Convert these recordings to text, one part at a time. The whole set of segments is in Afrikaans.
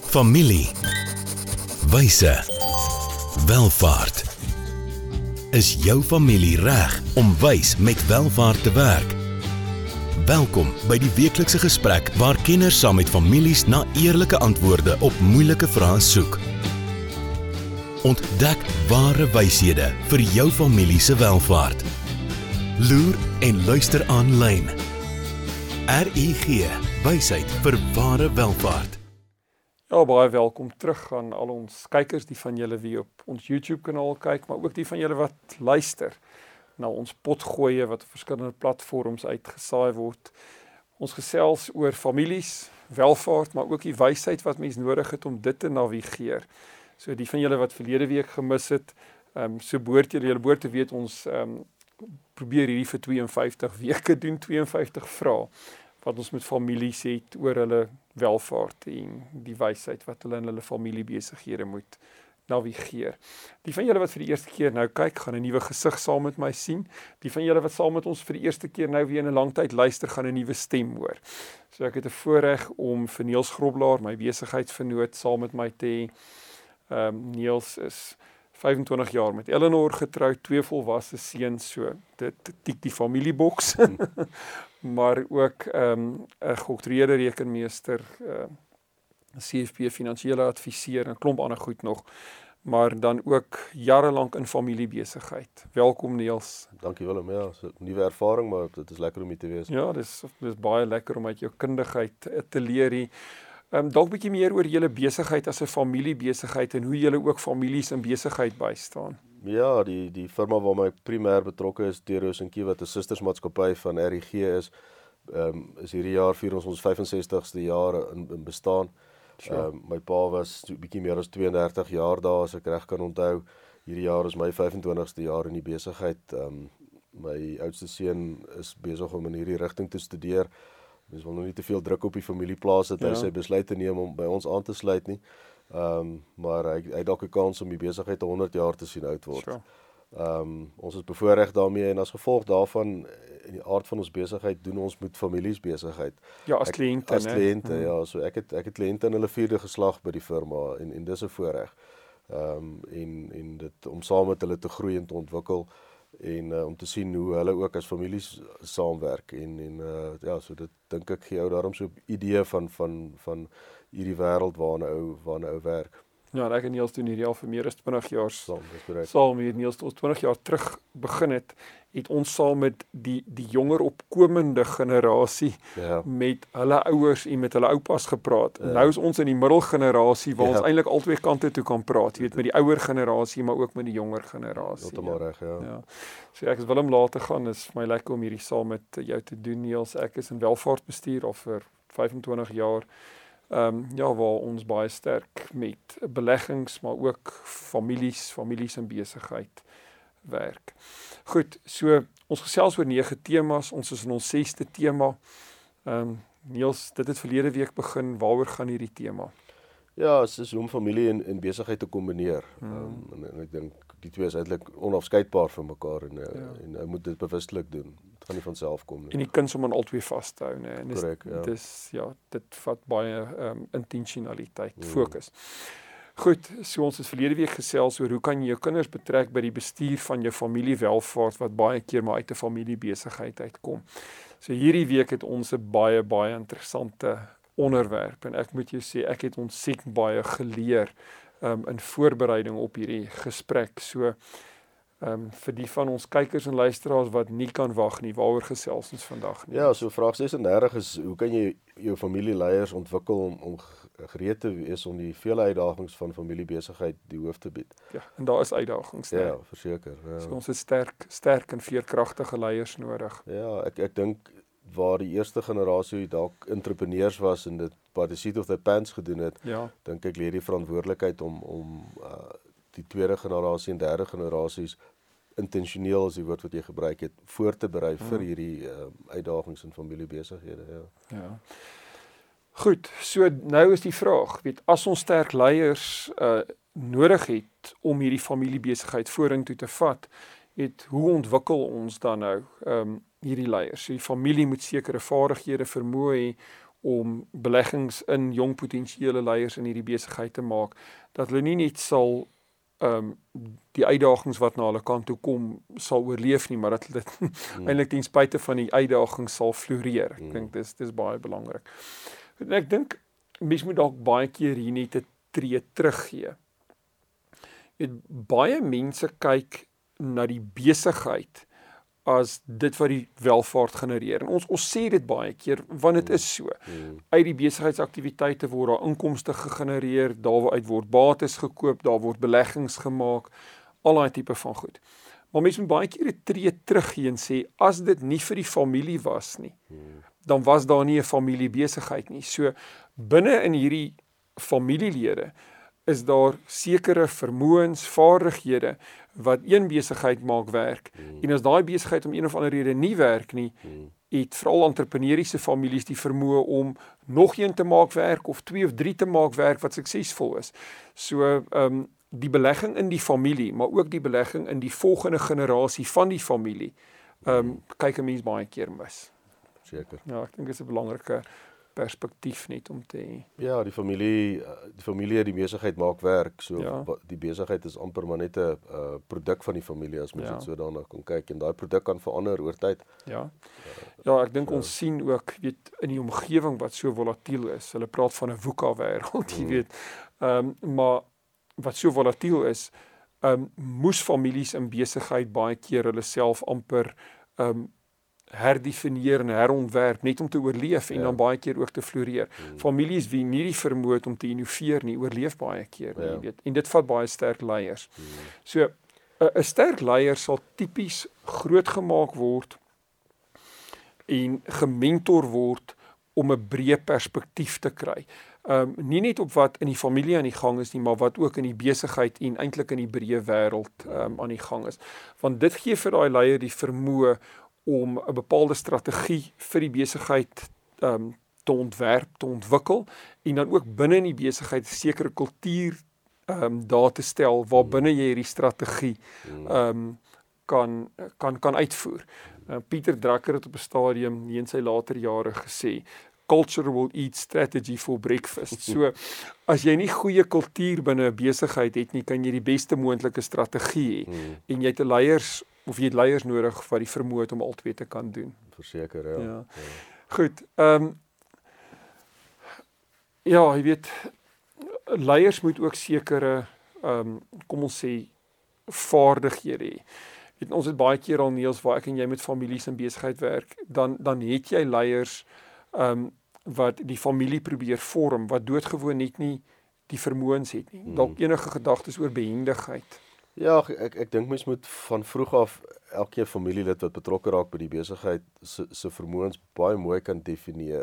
Familie, wyse, welvaart. Is jou familie reg om wys met welvaart te werk? Welkom by die weeklikse gesprek waar kenners saam met families na eerlike antwoorde op moeilike vrae soek. Ontdek ware wyshede vir jou familie se welvaart. Loer en luister aanlyn. RUG, wysheid vir ware welvaart. Ja, baie welkom terug aan al ons kykers, die van julle wie op ons YouTube kanaal kyk, maar ook die van julle wat luister na ons potgooie wat op verskillende platforms uitgesaai word. Ons gesels oor families, welvaart, maar ook die wysheid wat mens nodig het om dit te navigeer. So die van julle wat verlede week gemis het, so behoort julle behoort te weet ons probeer hierdie vir 52 weke doen, 52 vrae wat ons met families het oor hulle welvaart en die wysheid wat hulle in hulle familiebesighede moet navigeer. Die van julle wat vir die eerste keer nou kyk, gaan 'n nuwe gesig saam met my sien. Die van julle wat saam met ons vir die eerste keer nou weer in 'n lang tyd luister, gaan 'n nuwe stem hoor. So ek het 'n voorreg om vir Niels Groblaar, my besigheidsvernoot, saam met my te hê. Niels is 25 jaar met Eleanor getroud, 2 volwasse seuns, so dit tik die familieboks. Maar ook 'n gedoktoreerde rekenmeester, CFP finansiële adviseur en 'n klomp ander goed nog, maar dan ook jarelank in familiebesigheid. Welkom Niels. Dankie Willem, ja, so 'n nuwe ervaring, maar dit is lekker om hier te wees. Ja, dis baie lekker om uit jou kundigheid te leer hier. Dalk bietjie meer oor julle besigheid as 'n familiebesigheid en hoe julle ook families in besigheid bystaan. Ja, die firma waar my primêr betrokke is, Teros & Key, wat 'n sustersmaatskappy van RUG is hierdie jaar vier ons 65ste jaar in bestaan. My pa was bietjie meer as 32 jaar daar, as ek reg kan onthou. Hierdie jaar is my 25ste jaar in die besigheid. My oudste seun is besig om in hierdie rigting te studeer. Mens wil nog nie te veel druk op die familie plaas dat hy sy besluit te neem om by ons aan te sluit nie. Maar hy het dalk 'n kans om die besigheid 100 jaar te sien oud word. Sure. Ons is bevoorreg daarmee en as gevolg daarvan, in die aard van ons besigheid, doen ons met families besigheid. Ja, as kliënte. As kliënte, ja. So ek het kliënte in hulle 4de geslag by die firma en dis 'n voorreg. En dit om saam met hulle te groei en te ontwikkel en om te sien hoe hulle ook as families saamwerk en ja, so dit dink ek gee jou daarom so 'n idee van hierdie wêreld waarna ou werk. Ja, en ek en Niels doen hierdie al vir meer as 20 jaar saam met Niels, ons 20 jaar terug begin het ons saam met die jonger opkomende generasie met hulle ouers en met hulle oupas gepraat. Nou is ons in die middelgenerasie waar ons eintlik albei kante toe kan praat, jy weet, met die ouer generasie, maar ook met die jonger generasie. Heeltemal reg, ja. So ek is wil om later gaan, is vir my lekker om hierdie saam met jou te doen, Niels. Ek is in welvaartbestuur al vir 25 jaar. Waar ons baie sterk met beleggings, maar ook families en besigheid werk. Goed, so ons gesels oor 9 temas, ons is in ons 6de tema. Niels, dit het verlede week begin, waaroor gaan hierdie tema? Ja, het is om familie en besigheid te kombineer. En ek dink die twee is eintlik onafskeidbaar van mekaar en hy moet dit bewustelik doen. Dit gaan nie van self kom nie. En die kind om aan albei vas te hou, né? Korrek, ja. Dit vat baie intentionaliteit, fokus. Goed, so ons het verlede week gesels oor hoe kan jy jou kinders betrek by die bestuur van jou familiewelvaart wat baie keer maar uit 'n familiebesigheid uitkom. So hierdie week het ons 'n baie interessante onderwerp en ek moet jou sê ek het ontsettend baie geleer in voorbereiding op hierdie gesprek. So vir die van ons kykers en luisteraars wat nie kan wag nie, waaroor gesels ons vandag nie? Ja, so vraag 36 is, hoe kan jy jou familieleiers ontwikkel om gereed te wees om die vele uitdagings van familiebesigheid die hoof te bied? Ja, en daar is uitdagings. Ja, verseker. Ja. So ons het sterk en veerkragtige leiers nodig. Ja, ek dink waar die eerste generasie dalk entrepreneurs was en dit by the seat of their pants gedoen het, dink ek lê die verantwoordelikheid om die tweede generasie en derde generasies intentioneel is die woord wat jy gebruik het, voor te berei vir hierdie uitdagings in familiebesighede. Ja. Goed, so nou is die vraag, as ons sterk leiers nodig het om hierdie familiebesigheid vorentoe te vat, hoe ontwikkel ons dan nou hierdie leiers? So die familie moet sekere vaardighede vermoë hê om beleggings in jong potensiële leiers in hierdie besigheid te maak, dat hulle nie net sal die uitdagings wat na hulle kant toe kom sal oorleef nie, maar dat dit eintlik ten spyte van die uitdagings sal floreer. Ek dink dis baie belangrik. En ek dink mens moet dalk baie keer hier net 'n tree teruggee. Baie mense kyk na die besigheid as dit wat die welvaart genereer. En ons sê dit baie keer, want dit is so. Uit die besigheidsaktiwiteite word daar inkomste gegenereer, daaruit word bates gekoop, daar word beleggings gemaak, al daai tipe van goed. Maar mense moet baie keer 'n tree teruggee en sê, as dit nie vir die familie was nie, dan was daar nie 'n familiebesigheid nie. So, binne in hierdie familielede, is daar sekere vermoëns, vaardighede, wat een besigheid maak werk, en as daai besigheid om een of ander rede nie werk nie, het veral entrepreneuriese families die vermoë om nog een te maak werk, of 2 of 3 te maak werk, wat suksesvol is. So, die belegging in die familie, maar ook die belegging in die volgende generasie van die familie, kyk 'n mens baie keer mis. Seker. Ja, ek dink dit is 'n belangrike perspektief net om te hê. Ja, die familie het die besigheid maak werk, so Ja. Die besigheid is amper maar net 'n produk van die familie, as mens dit so daarna kan kyk, en daai produk kan verander oor tyd. Ja, ek dink ons sien ook, weet, in die omgewing wat so volatiel is, hulle praat van 'n VUCA-wêreld, jy weet, maar wat so volatiel is, moes families in besigheid baie keer hulle self amper herdefinieer en herontwerp, net om te oorleef en dan baie keer ook te floreer. Families wie nie die vermoë het om te innoveer nie, oorleef baie keer, jy weet. En dit vat baie sterk leiers. So, 'n sterk leier sal tipies grootgemaak word en gementor word om 'n breë perspektief te kry. Nie net op wat in die familie aan die gang is nie, maar wat ook in die besigheid en eintlik in die breë wêreld aan die gang is. Want dit gee vir daai leier die vermoë om 'n bepaalde strategie vir die besigheid te ontwerp, te ontwikkel, en dan ook binne in die besigheid 'n sekere kultuur daar te stel, waar binne jy hierdie strategie kan uitvoer. Pieter Drucker het op 'n stadium in sy later jare gesê, culture will eat strategy for breakfast. So, as jy nie goeie kultuur binne 'n besigheid het nie, kan jy die beste moontlike strategie hê. En jy het jy het leiers nodig wat die vermoë het om al twee te kan doen. Verseker, ja. Goed, jy weet, leiers moet ook sekere, kom ons sê, vaardighede hê. Ons het baie keer al, Niels, waar ek en jy met families in besigheid werk, dan het jy leiers wat die familie probeer vorm, wat doodgewoon net nie die vermoëns het nie. Dalk enige gedagtes oor behendigheid. Ja, ek dink mens moet van vroeg af elke familielid wat betrokke raak by die besigheid se vermoëns baie mooi kan definieer.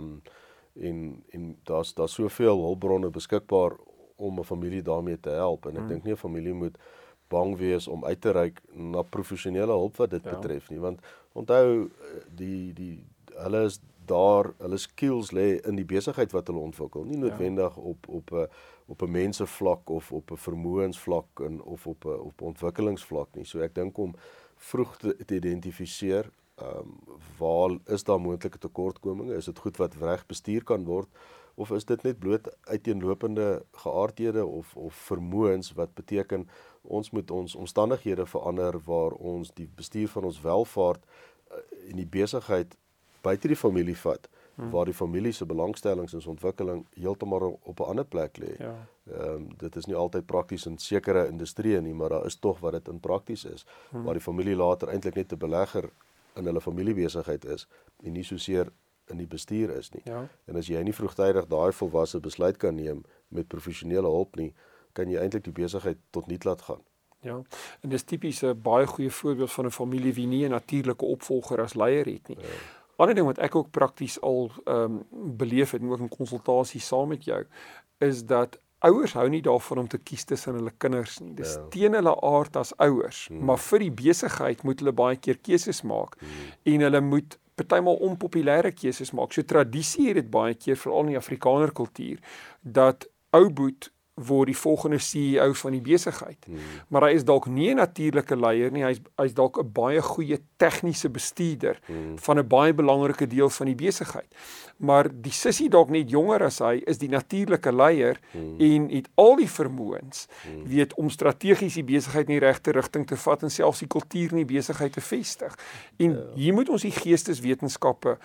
En daar's soveel hulpbronne beskikbaar om 'n familie daarmee te help, en ek dink nie 'n familie moet bang wees om uit te reik na professionele hulp wat dit betref nie, want onthou, hulle is daar, hulle skills lê in die besigheid wat hulle ontwikkel, nie noodwendig op 'n mensevlak of op 'n vermoënsvlak of op 'n ontwikkelingsvlak nie. So ek dink om vroeg te identifiseer, waar is daar moontlike tekortkominge, is dit goed wat reg bestuur kan word, of is dit net bloot uiteenlopende geaardhede of vermoëns wat beteken ons moet ons omstandighede verander waar ons die bestuur van ons welvaart in die besigheid buite die familie vat, waar die familie se belangstellings en ontwikkeling heeltemal op 'n ander plek lê. Dit is nie altyd prakties in sekere industrieë nie, maar daar is tog wat dit in prakties is, waar die familie later eintlik net 'n belegger in hulle familiebesigheid is en nie soseer in die bestuur is nie. En as jy nie vroegtydig daai volwasse besluit kan neem met professionele hulp nie, kan jy eintlik die besigheid tot niet laat gaan. Ja, en dis tipies 'n baie goeie voorbeeld van 'n familie wie nie 'n natuurlike opvolger as leier het nie. Ander ding wat ek ook prakties al beleef het, en ook in konsultasie saam met jou, is dat ouers hou nie daarvan om te kies tussen hulle kinders nie. Dis teen hulle aard as ouers, maar vir die besigheid moet hulle baie keer keuses maak, en hulle moet partymal onpopulêre keuses maak. So tradisie het dit baie keer, veral in die Afrikaner kultuur, dat ou boet word die volgende CEO van die besigheid. Maar hy is dalk nie 'n natuurlike leier nie, hy's dalk 'n baie goeie tegniese bestuurder van 'n baie belangrike deel van die besigheid. Maar die sussie dalk net jonger as hy is die natuurlike leier en het al die vermoëns, weet om strategies die besigheid in die regte rigting te vat en selfs die kultuur in die besigheid te vestig. En hier moet ons die geesteswetenskappe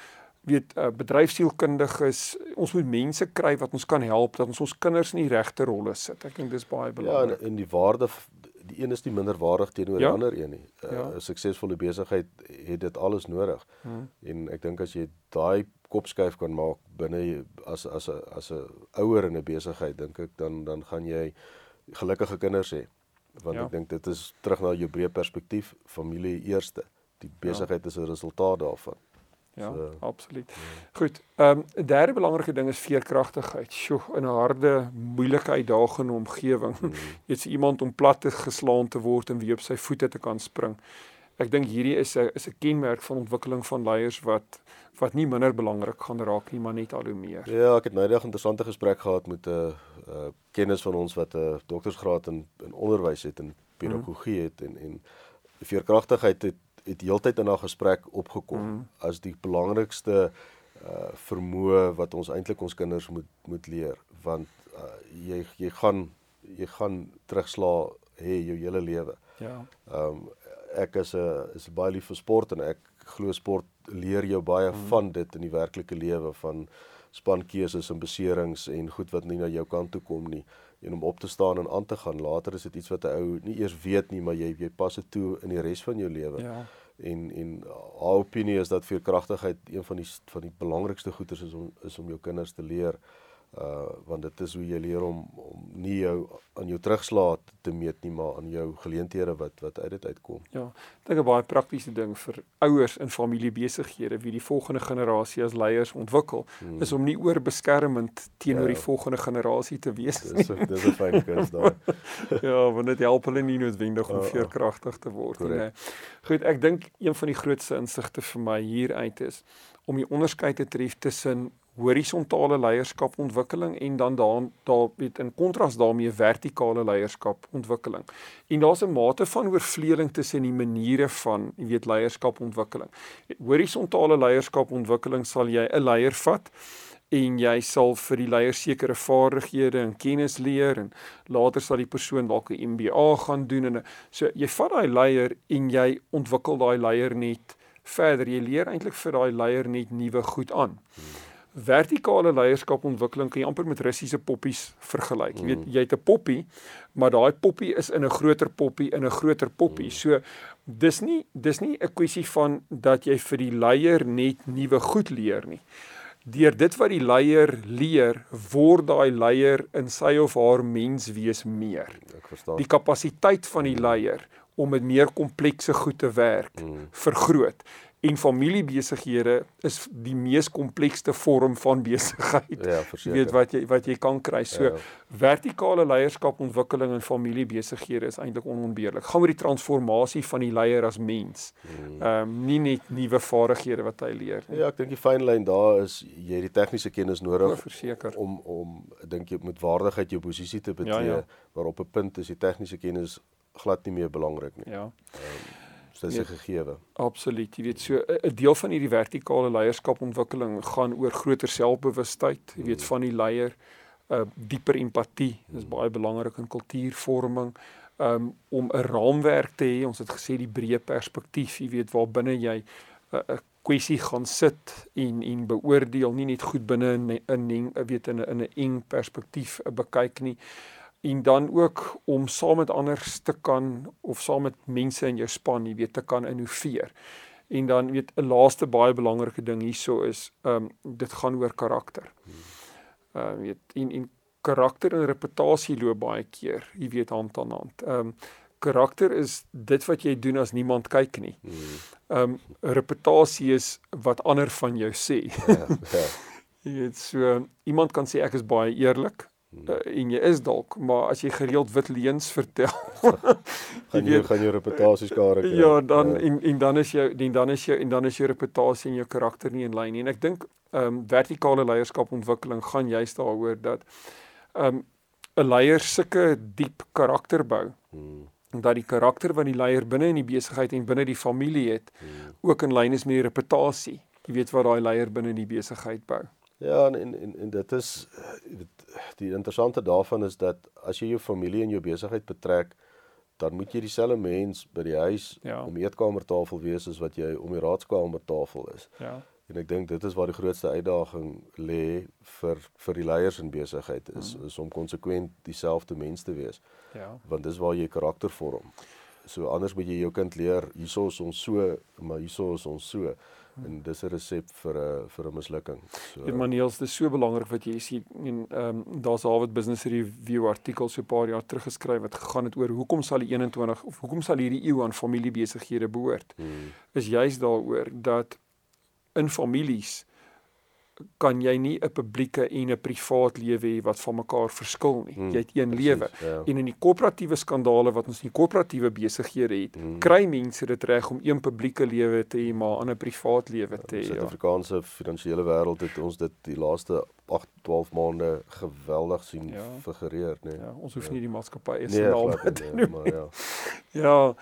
bedryfsielkundiges, ons moet mense kry wat ons kan help, dat ons kinders in die regte rolle sit. Ek dink dis baie belangrik. Ja, en die waarde, die een is nie minder waardig teenoor die ander een nie. 'n Suksesvolle besigheid het dit alles nodig. En ek dink as jy daai kopskuif kan maak binne as 'n ouer in 'n besigheid, dink ek dan gaan jy gelukkige kinders hê. Want ek dink dit is terug na jou breë perspektief, familie eerste. Die besigheid is 'n resultaat daarvan. Ja, absoluut. Goed, 'n derde belangrike ding is veerkragtigheid. Sjoe, in 'n harde, moeilike, uitdagende omgewing. Jy het iemand om plat geslaan te word en weer op sy voete te kan spring. Ek dink hierdie is 'n kenmerk van ontwikkeling van leiers wat nie minder belangrik gaan raak nie, maar net al hoe meer. Ja, ek het nou 'n interessante gesprek gehad met 'n kennis van ons wat 'n doktorsgraad in onderwys het en pedagogie het en veerkragtigheid het heeltyd in haar gesprek opgekom as die belangrikste vermoë wat ons eintlik ons kinders moet leer, want jy gaan terugslaa hê jou hele lewe. Ja. Ek is baie lief vir sport en ek glo sport leer jou baie van dit in die werklike lewe, van spankeuses en beserings en goed wat nie na jou kant toe kom nie, en om op te staan en aan te gaan. Later is dit iets wat 'n ou nie eers weet nie, maar jy pas dit toe in die res van jou lewe. Ja. En haar opinie is dat veerkragtigheid een van die belangrikste goeders is om jou kinders te leer, want dit is hoe jy leer om nie jou aan jou terugslae te meet nie, maar aan jou geleenthede wat uit dit uitkom. Ja, ek dink 'n baie praktiese ding vir ouers in familiebesighede wie die volgende generasie as leiers ontwikkel, is om nie oorbeskermend teenoor die volgende generasie te wees nie. Dis 'n fyn kuns daar. Ja, want dit help hulle nie noodwendig om veerkragtig te word nie. Nee. Goed, ek dink een van die grootste insigte vir my hieruit is om die onderskeid te tref tussen horisontale leierskapontwikkeling en dan in kontras daarmee vertikale leierskapontwikkeling. En daar's 'n mate van oorvleeling tussen die maniere van, leierskapontwikkeling. Horisontale leierskapontwikkeling sal jy 'n leier vat en jy sal vir die leier sekere vaardighede en kennis leer en later sal die persoon dalk 'n MBA gaan doen en so jy vat daai leier en jy ontwikkel daai leier net verder. Jy leer eintlik vir daai leier net nuwe goed aan. Vertikale leierskapontwikkeling kan jy amper met Russiese poppies vergelyk. Jy weet, jy het 'n poppie, maar daai poppie is in 'n groter poppie in 'n groter poppie. So dis nie 'n kwessie van dat jy vir die leier net nuwe goed leer nie. Deur dit wat die leier leer, word daai leier in sy of haar menswees meer. Ek verstaan. Die kapasiteit van die leier om met meer komplekse goed te werk, vergroot. En familiebesighede is die mees komplekste vorm van besigheid. Ja, verseker. Wat jy kan kry. So vertikale leierskapontwikkeling in familiebesighede is eintlik onontbeerlik. Gaan oor die transformasie van die leier as mens. Nie net nuwe vaardighede wat hy leer nie. Ja, ek dink die fyn lyn daar is jy het die tegniese kennis nodig verseker. om dink jy met waardigheid jou posisie te betree, maar op 'n punt is die tegniese kennis glad nie meer belangrik nie. Ja. Dis 'n gegewe. Absoluut. Jy weet, so 'n deel van hierdie vertikale leierskapontwikkeling gaan oor groter selfbewustheid, jy weet, van die leier, dieper empatie, dis baie belangrik in kultuurvorming, om 'n raamwerk te hê, ons het gesê die breë perspektief, jy weet, waar binne jy 'n kwessie gaan sit en beoordeel, nie net goed binne in 'n eng perspektief bekyk nie. En dan ook om saam met anders te kan, of saam met mense in jou span, jy weet, te kan innoveer. En dan, weet, 'n laaste baie belangrike ding hierso is, dit gaan oor karakter. Weet, en karakter en reputasie loop baie keer, jy weet, hand aan hand. Karakter is dit wat jy doen as niemand kyk nie. Reputasie is wat ander van jou sê. Jy weet, so, iemand kan sê ek is baie eerlik, en jy is dalk, maar as jy gereeld wit leuns vertel, gaan jou reputasie skade kry. Ja, dan is jou reputasie en jou karakter nie in lyn nie. En ek dink vertikale leierskapontwikkeling gaan juist daaroor dat 'n leier sulke diep karakter bou, dat die karakter wat die leier binne in die besigheid en binne die familie het, ook in lyn is met die reputasie. Jy weet wat daai leier binne in die besigheid bou. Ja, en dit is, die interessante daarvan is dat as jy jou familie en jou besigheid betrek, dan moet jy dieselfde mens by die huis om die eetkamertafel wees as wat jy om die raadskamertafel is. Ja. En ek dink dit is waar die grootste uitdaging lê vir die leiers in besigheid is om konsekwent dieselfde mens te wees. Ja. Want dis waar jy karakter vorm. So anders moet jy jou kind leer, hierso is ons so, maar hierso is ons so. En dis 'n resep vir 'n mislukking. So, Ja, maar Niels, dis so belangrik wat jy sê, en daar's Harvard Business Review artikel so 'n paar jaar terug geskryf wat gegaan het oor hoekom sal die 21 of hoekom sal hierdie eeu aan familiebesighede behoort. Is juist daaroor dat in families kan jy nie 'n publieke en 'n privaat lewe hê wat van mekaar verskil nie. Jy het een lewe. ja. En in die korporatiewe skandale wat ons in die korporatiewe besighede het, kry mense dit reg om een publieke lewe te hê, maar 'n ander privaat lewe te In hê. die Suid-Afrikaanse finansiële wêreld het ons dit die laaste 8-12 maande geweldig sien figureer, nee. Ja, ons hoef nie die maatskappy se Nee, naam glad te nie, noem. maar ja. Ja,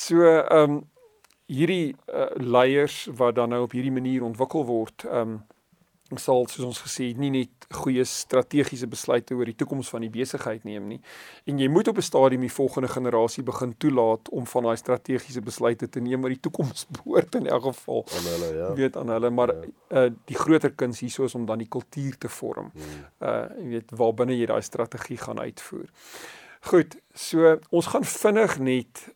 so hierdie leiers wat dan nou op hierdie manier ontwikkel word, sal, soos ons gesê het, nie net goeie strategiese besluite oor die toekoms van die besigheid neem nie. En jy moet op 'n stadium die volgende generasie begin toelaat om van daai strategiese besluite te neem wat die toekoms behoort in elk geval. Aan hulle, ja. Weet aan hulle, maar die groter kuns hierso is om dan die kultuur te vorm. Jy weet waarbinne jy daai strategie gaan uitvoer. Goed, so ons gaan vinnig net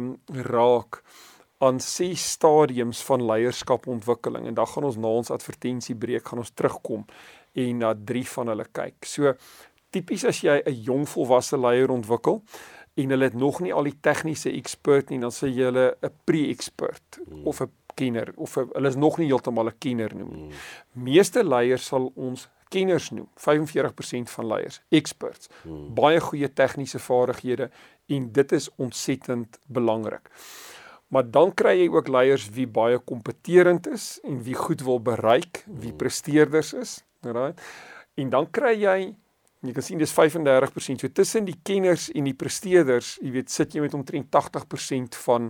raak aan 6 stadiums van leierskapontwikkeling en dan gaan ons na ons advertensiebreek gaan ons terugkom en na 3 van hulle kyk. So tipies as jy 'n jong volwasse leier ontwikkel en hulle het nog nie al die tegniese expert nie, dan sê jy hulle 'n pre-expert of 'n kenner of hulle is nog nie heeltemal 'n kenner noem nie. Meeste leiers sal ons kenners noem, 45% van leiers, experts, baie goeie tegniese vaardighede en dit is ontsettend belangrik. Maar dan kry jy ook leiers wie baie kompeterend is en wie goed wil bereik, wie presteerders is, right? En dan kry jy kan sien dis 35%, so tussen die kenners en die presteerders, jy weet, sit jy met omtrent 80% van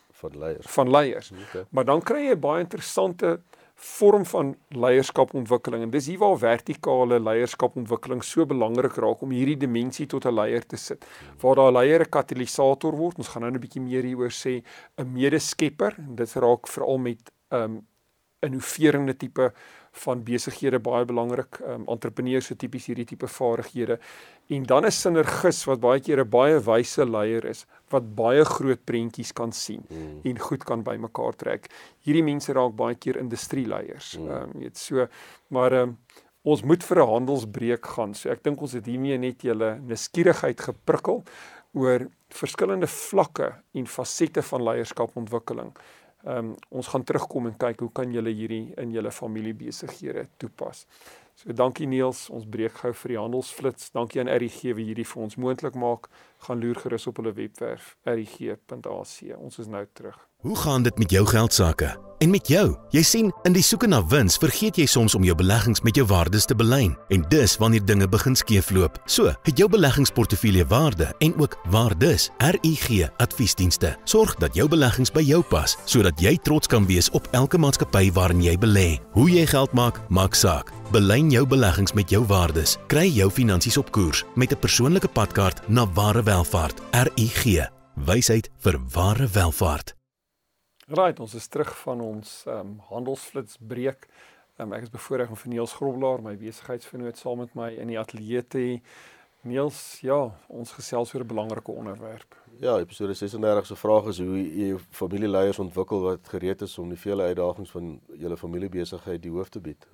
leiers. Okay. Maar dan kry jy baie interessante vorm van leierskapontwikkeling en dis hier waar vertikale leierskapontwikkeling so belangrik raak om hierdie dimensie tot 'n leier te sit. Waar daar 'n leier 'n katalisator word, ons gaan nou 'n bietjie meer hieroor sê, 'n medeskepper, en dit raak veral met innoverende tipe van besighede baie belangrik, entrepreneurs so tipies hierdie tipe vaardighede, en dan 'n sinergis wat baie keer 'n baie wyse leier is, wat baie groot prentjies kan sien en goed kan bymekaar trek. Hierdie mense raak baie keer industrieleiers, weet so, maar ons moet vir 'n handelsbreek gaan, so ek dink ons het hiermee net julle nuuskierigheid geprikkel oor verskillende vlakke en fasette van leierskapontwikkeling. Ons gaan terugkom en kyk hoe kan julle hierdie in julle familiebesighede toepas. So dankie Niels, ons breek gou vir die handelsflits. Dankie aan RIG wie hierdie vir ons moontlik maak. Gaan loer gerus op hulle webwerf rig.ac. Ons is nou terug. Hoe gaan dit met jou geldsaake? En met jou? Jy sien, in die soeke na wins vergeet jy soms om jou beleggings met jou waardes te belyn. En dis wanneer dinge begin skeefloop. So, het jou beleggingsportefeulje waarde en ook waardes. RIG Adviesdienste sorg dat jou beleggings by jou pas, sodat jy trots kan wees op elke maatskappy waarin jy belê. Hoe jy geld maak, maak saak. Belyn jou beleggings met jou waardes. Kry jou finansies op koers met 'n persoonlike padkaart na ware welvaart. RIG. Wysheid vir ware welvaart. Right, ons is terug van ons handelsflitsbreek. Ek is bevoorreg om vir Niels Grobelaar, my besigheidsvernoot, saam met my in die ateljee te hê. Niels, ja, ons gesels oor 'n belangrike onderwerp. Ja, episode 36 se vraag is hoe jy jou familieleiers ontwikkel wat gereed is om die vele uitdagings van julle familiebesigheid die hoof te bied.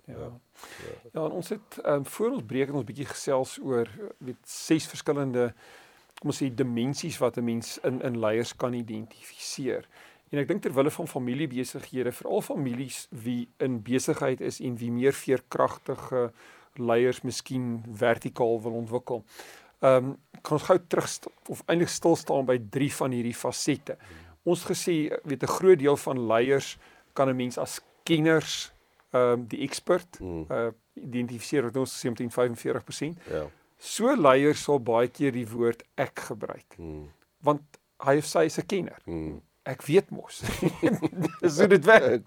Ja, en ons het voor ons breek het ons bietjie gesels oor 6 verskillende, kom ons sê, dimensies wat 'n mens in leiers kan identifiseer. En ek dink ter wille van familiebesighede, veral families wie in besigheid is en wie meer veerkragtige leiers miskien vertikaal wil ontwikkel. Kan ons gou terug of eintlik stil staan by 3 van hierdie fasette. Ons gesê, weet 'n groot deel van leiers kan 'n mens as kenners, die expert identifiseer, wat ons gesê omtrent 45%. Ja. So leier sal baie keer die woord ek gebruik. Want hy of sy is 'n kenner. Ek weet mos. Dis hoe dit werk.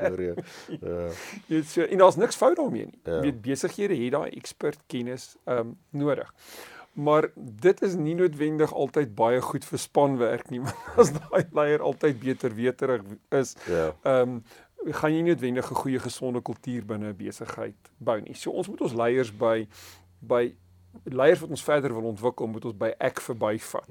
So, en daar's niks fout daarmee nie. Jy weet, besighede het daai expert kennis nodig. Maar dit is nie noodwendig altyd baie goed vir spanwerk nie, want as daai leier altyd beter weterig is, gaan jy nie noodwendig 'n goeie gesonde kultuur binne 'n besigheid bou nie. So ons moet ons leiers by leiers wat ons verder wil ontwikkel, moet ons by ek verbyvat.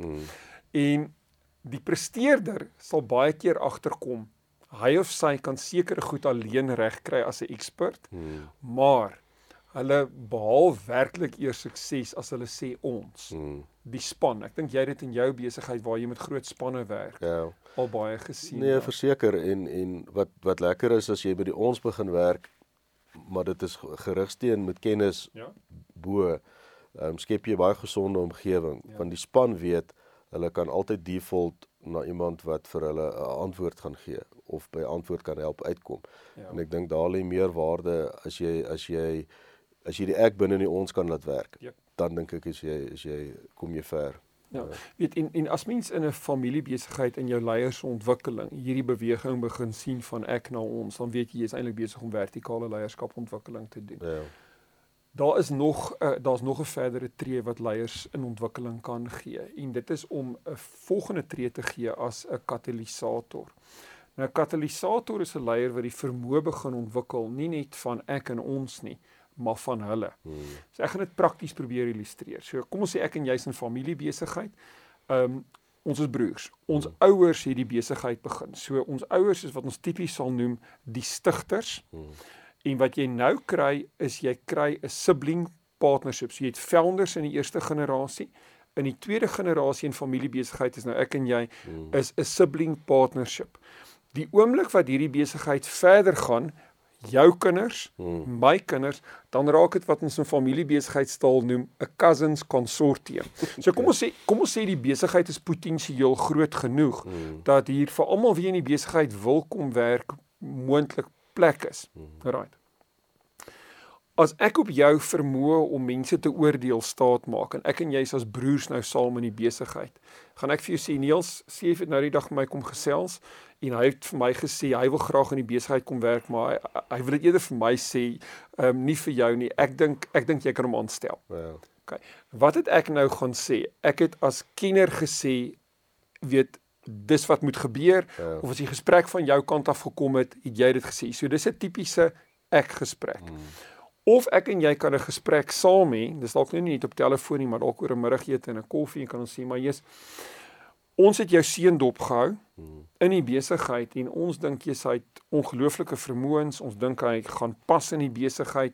En die presteerder sal baie keer agterkom, hy of sy kan sekere goed alleen reg kry as 'n expert, maar hulle behaal werklik eers sukses as hulle sê ons, die span. Ek dink jy het dit in jou besigheid waar jy met groot spanne werk, al baie gesien. Nee, verseker, en wat lekker is as jy by die ons begin werk, maar dit is gerigsteen met kennis bo, skep jy baie gesonde omgewing, want die span weet, hulle kan altyd default na iemand wat vir hulle 'n antwoord gaan gee, of by antwoord kan help uitkom. En ek dink daar lê meer waarde as jy die ek binne die ons kan laat werk, dan dink ek kom jy ver. Weet, en as mens in 'n familiebesigheid in jou leiersontwikkeling hierdie beweging begin sien van ek na ons, dan weet jy is eintlik besig om vertikale leierskapontwikkeling te doen. Daar's nog 'n verdere tree wat leiers in ontwikkeling kan gee, en dit is om 'n volgende tree te gee as 'n katalisator. Nou 'n katalisator is 'n leier wat die vermoë begin ontwikkel, nie net van ek en ons nie, maar van hulle. So ek gaan dit prakties probeer illustreer. So kom ons sê ek en jy is in familiebesigheid. Ons is broers. Ons ouers het die besigheid begin. So ons ouers is wat ons tipies sal noem die stigters. En wat jy nou kry is jy kry 'n sibling partnership. So jy het founders in die eerste generasie. In die tweede generasie in familiebesigheid is nou ek en jy is 'n sibling partnership. Die oomblik wat hierdie besigheid verder gaan, jou kinders, my kinders, dan raak dit wat ons in familiebesigheidsstaal noem 'n cousins consortium. So kom ons sê die besigheid is potensieel groot genoeg dat hier vir almal wie in die besigheid wil kom werk moontlik plek is. Right. As ek op jou vermoë om mense te oordeel staat maak, en ek en jy is as broers nou saam in die besigheid, gaan ek vir jou sê, Niels, Sief het nou die dag met my kom gesels, en hy het vir my gesê, hy wil graag in die besigheid kom werk, maar hy wil dit eerder vir my sê, nie vir jou nie, ek dink jy kan hom aanstel. Okay. Wat het ek nou gaan sê? Ek het as kenner gesê, weet, dis wat moet gebeur, of as die gesprek van jou kant af gekom het jy dit gesê. So dis 'n tipiese ek-gesprek. Of ek en jy kan 'n gesprek saam hê, dis dalk nou nie net op telefoon nie, maar dalk oor 'n middagete en 'n koffie, en kan ons sê, maar ons het jou seun dopgehou in die besigheid, en ons dink jy het ongelooflike vermoëns, ons dink hy gaan pas in die besigheid,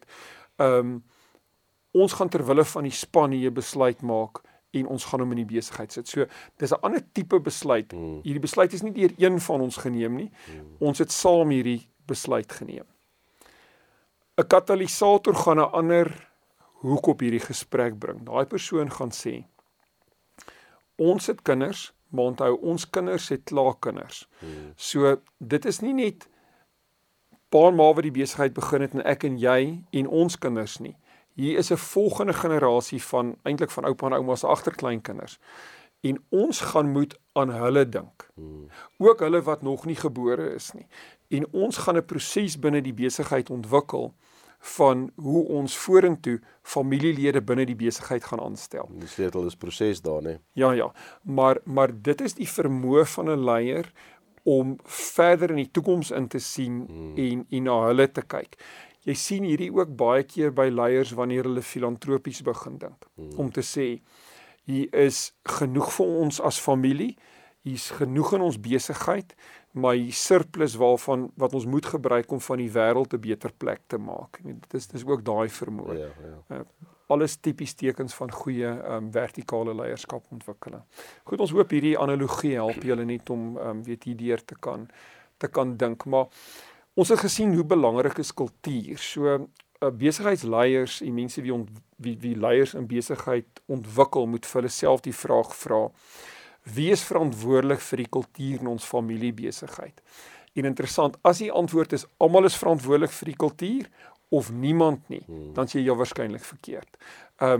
ons gaan terwille van die span hier besluit maak, en ons gaan hom in die besigheid sit. So, dis 'n ander tipe besluit. Hierdie besluit is nie deur een van ons geneem nie, ons het saam hierdie besluit geneem. 'n Katalisator gaan 'n ander hoek op hierdie gesprek bring. Daai persoon gaan sê, ons het kinders, maar onthou, ons kinders het klaar kinders. So, dit is nie net pa en ma wat die besigheid begin het, en ek en jy, en ons kinders nie. Hier is 'n volgende generasie van, eintlik van oupa en ouma se agterkleinkinders. En ons gaan moet aan hulle dink. Ook hulle wat nog nie gebore is nie. En ons gaan 'n proses binne die besigheid ontwikkel van hoe ons vorentoe familielede binne die besigheid gaan aanstel. Die sleutel is proses daar, né? Ja, maar dit is die vermoë van 'n leier om verder in die toekoms in te sien en na hulle te kyk. Jy sien hierdie ook baie keer by leiers wanneer hulle filantropies begin dink. Om te sê, hier is genoeg vir ons as familie, hier is genoeg in ons besigheid, maar hier surplus wat ons moet gebruik om van die wêreld 'n beter plek te maak. Dit is ook daai vermoë. Alles tipies tekens van goeie vertikale leierskapontwikkeling. Goed, ons hoop hierdie analogie help julle net om hierdeur te kan dink, maar ons het gesien hoe belangrik is kultuur. So besigheidsleiers en mense wie leiers in besigheid ontwikkel, moet vir hulle self die vraag vra: wie is verantwoordelik vir die kultuur in ons familiebesigheid? En interessant, as die antwoord is almal is verantwoordelik vir die kultuur of niemand nie, dan sê jy waarskynlik verkeerd.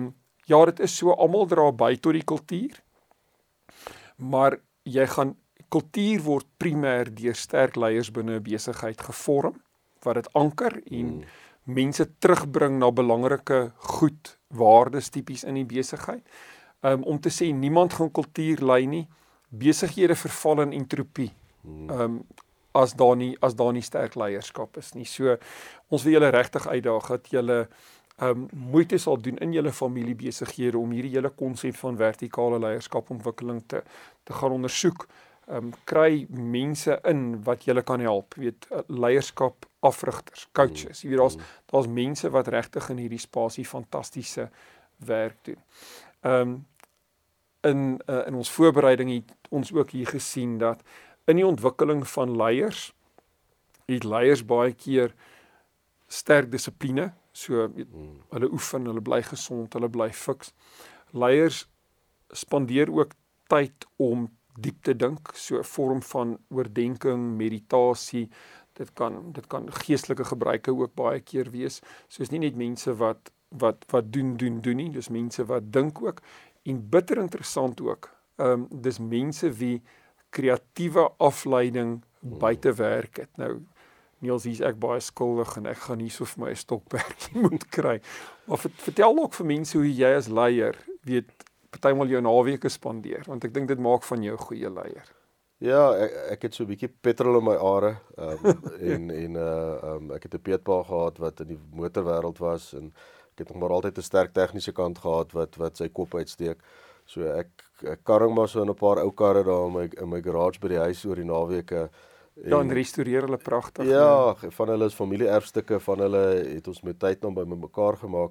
ja, dit is so, almal dra by tot die kultuur, maar kultuur word primêr deur sterk leiers binne 'n besigheid gevorm, wat dit anker en mense terugbring na belangrike goed, waardes tipies in die besigheid. Om te sê, niemand gaan kultuur lei nie, besighede verval in entropie, as daar nie sterk leierskap is nie. So, ons wil julle regtig uitdaag, dat julle moeite sal doen in julle familiebesighede, om hierdie hele konsep van vertikale leierskapontwikkeling te gaan ondersoek. Kry mense in wat julle kan help, leierskap afrigters, coaches, daar's mense wat regtig in hierdie spasie fantastiese werk doen. In ons voorbereiding het ons ook hier gesien dat in die ontwikkeling van leiers, het leiers baie keer sterk dissipline, so hulle oefen, hulle bly gesond, hulle bly fiks. Leiers spandeer ook tyd om diep te dink, so 'n vorm van oordenking, meditasie, dit kan geestelike gebruike ook baie keer wees, soos nie net mense wat doen nie, dis mense wat dink ook, en bitter interessant ook, dis mense wie kreatiewe afleiding buite werk het. Nou, Niels, hier is ek baie skuldig en ek gaan nie so vir my 'n stokperdjie moet kry, maar vertel ook vir mense hoe jy as leier, partymal jou naweke spandeer, want ek dink dit maak van jou 'n goeie leier. Ja, ek het so 'n bietjie petrol in my are, ek het 'n peetpa gehad wat in die motorwêreld was, en ek het nog maar altyd 'n sterk tegniese kant gehad wat sy kop uitsteek. So ek karring maar so in 'n paar ou karre daar in my garage by die huis oor die naweke. En restoreer hulle pragtig. Ja, van hulle is familie-erfstukke, van hulle het ons met tyd dan by mekaar gemaak.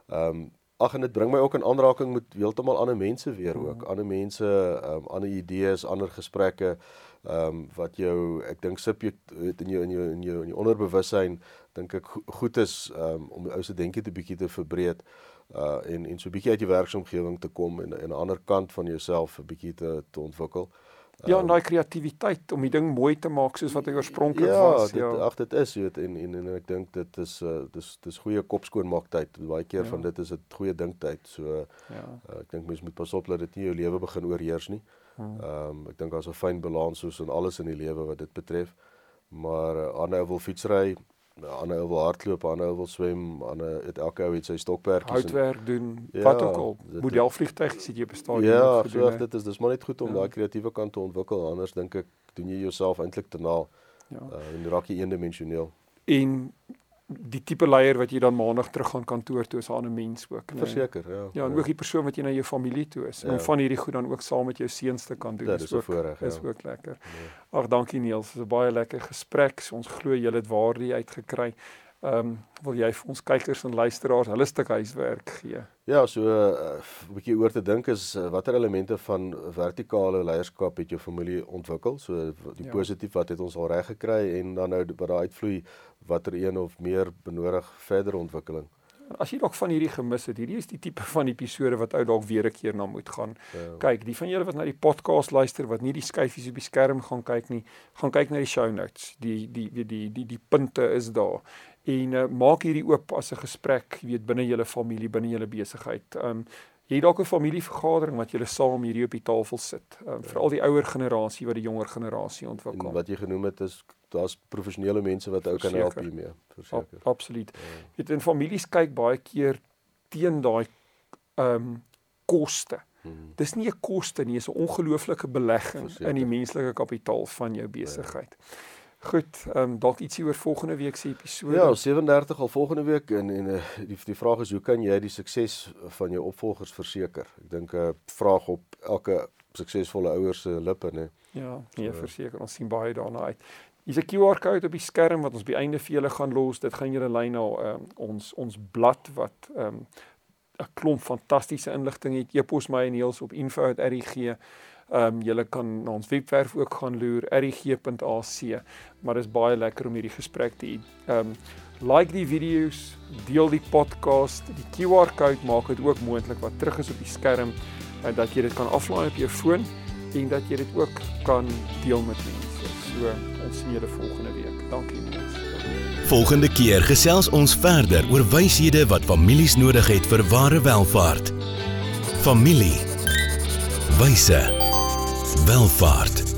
En dit bring my ook in aanraking met heeltemal ander mense weer ook. Ander mense, ander idees, ander gesprekke, wat jou, ek dink in jou onderbewussyn, dink ek goed is, om jou se denkie 'n bietjie te verbreed, en so 'n bietjie uit jou werksomgewing te kom, en 'n ander kant van jouself 'n bietjie te ontwikkel. Ja, en daai kreatiwiteit om die ding mooi te maak soos wat hy oorspronklik was. Dit is, en ek dink dit is goeie kopskoonmaaktyd. Baie keer van dit is dit goeie dinktyd. So ek dink mens moet pas op dat dit nie jou lewe begin oorheers nie. Ek dink daar's 'n fyn balans soos in alles in die lewe wat dit betref. Maar ander wil fietsry, ander ou wil hardloop, ander ou wil swem, elke ou het sy stokperdjies. Houtwerk doen, wat ook al. Modelvliegtuigies het jy bestaan. Ja, dis maar net goed om daai kreatiewe kant te ontwikkel, anders dink ek, doen jy jouself eintlik te na, en raak jy eendimensioneel. En die tipe leier wat jy dan maandag terug gaan kantoor toe is 'n ander mens ook. Verseker, Ja, en ook die persoon wat jy na jou familie toe is. Om van hierdie goed dan ook saam met jou seuns te kan doen. Dit is 'n voorreg, is ook lekker. Ag, dankie Niels, dit is 'n baie lekker gesprek. So, ons glo jy het waarde uitgekry. Wil jy vir ons kykers en luisteraars hulle stuk huiswerk gee? Ja, so 'n bietjie oor te dink is, watter elemente van vertikale leierskap het jou familie ontwikkel? So die positief, wat het ons al reg gekry, en dan nou wat daar uitvloei, watter een of meer benodig verdere ontwikkeling? As jy dalk van hierdie gemis het, hierdie is die tipe van episode wat ou dalk weer 'n keer na moet gaan kyk. Die van julle wat na die podcast luister, wat nie die skyfies op die skerm gaan kyk nie, gaan kyk na die show notes. Die punte is daar. En maak hierdie oop as 'n gesprek, binne julle familie, binne julle besigheid. Jy het dalk 'n familievergadering wat julle saam hierdie op die tafel sit. Veral die ouer generasie wat die jonger generasie ontwikkel. En wat jy genoem het is, daar's professionele mense wat ook kan help hiermee, verseker. Absoluut. En families kyk baie keer teen daai koste. Dis nie 'n koste nie, dis 'n ongelooflike belegging in die menslike kapitaal van jou besigheid. Goed, dalk ietsie oor volgende week se episode. Ja, 37 al volgende week, en die vraag is, hoe kan jy die sukses van jou opvolgers verseker? Ek dink 'n vraag op elke suksesvolle ouers se lippe, né? Ja, verseker, ons sien baie daarna uit. Hier's 'n QR-kode op die skerm wat ons by einde vir julle gaan los. Dit gaan julle lei na ons blad wat 'n klomp fantastiese inligting het. E-pos my en Niels op info@rig. Julle kan na ons webwerf ook gaan loer, rig.ac, maar dit is baie lekker om hierdie gesprek te hê. Like die video's, deel die podcast, die QR-code maak dit ook moontlik wat terug is op die skerm, dat jy dit kan aflaai op jou foon, en dat jy dit ook kan deel met mense. So, ons sien julle volgende week. Dankie Niels. Volgende keer gesels ons verder oor wyshede wat families nodig het vir ware welvaart. familie, wyse, welvaart.